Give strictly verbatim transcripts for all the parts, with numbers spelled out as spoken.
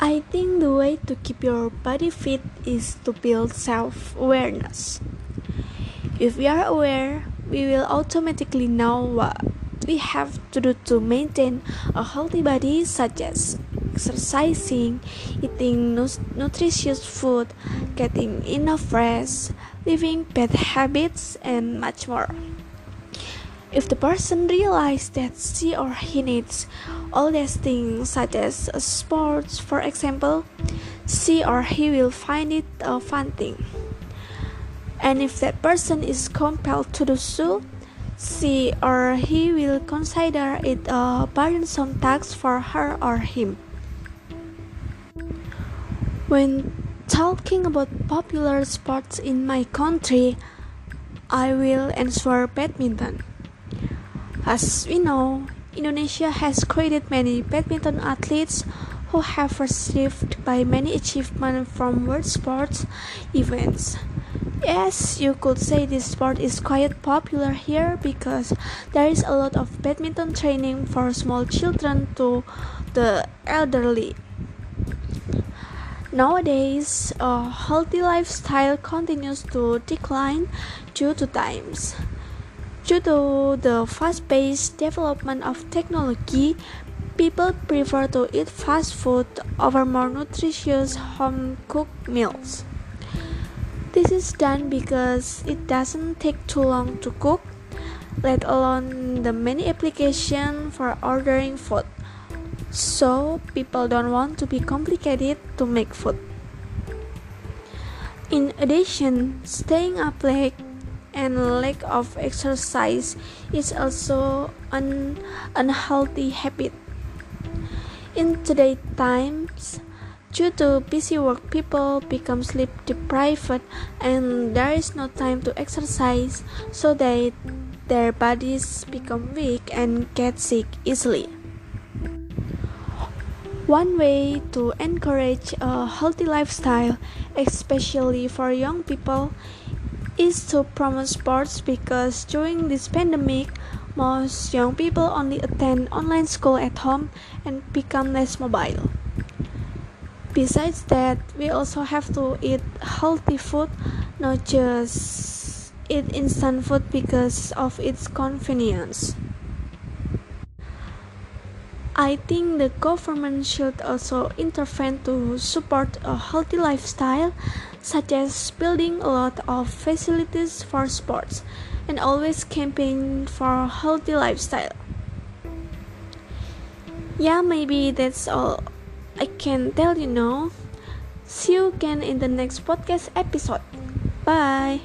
I think the way to keep your body fit is to build self-awareness. If we are aware, we will automatically know what we have to do to maintain a healthy body, such as exercising, eating nu- nutritious food, getting enough rest, living bad habits, and much more. If the person realizes that she or he needs all these things, such as sports, for example, she or he will find it a fun thing. And if that person is compelled to do so, she or he will consider it a burdensome task for her or him. When talking about popular sports in my country, I will answer badminton. As we know, Indonesia has created many badminton athletes who have received by many achievements from world sports events. Yes, you could say this sport is quite popular here because there is a lot of badminton training for small children to the elderly. Nowadays, a healthy lifestyle continues to decline due to times. Due to the fast-paced development of technology, people prefer to eat fast food over more nutritious home-cooked meals. This is done because it doesn't take too long to cook, let alone the many applications for ordering food. So, people don't want to be complicated to make food. In addition, staying up late and lack of exercise is also an unhealthy habit. In today's times, due to busy work, people become sleep deprived and there is no time to exercise, so that their bodies become weak and get sick easily. One way to encourage a healthy lifestyle, especially for young people, is to promote sports because during this pandemic, most young people only attend online school at home and become less mobile. Besides that, we also have to eat healthy food, not just eat instant food because of its convenience. I think the government should also intervene to support a healthy lifestyle, such as building a lot of facilities for sports and always campaign for a healthy lifestyle. Yeah, maybe that's all I can tell you now. See you again in the next podcast episode. Bye.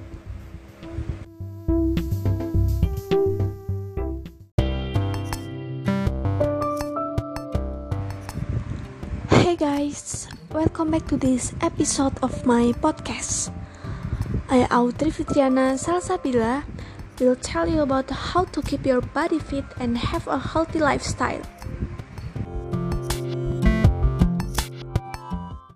Hey guys, welcome back to this episode of my podcast. I, Audrey Fitriana Salsabila, will tell you about how to keep your body fit and have a healthy lifestyle.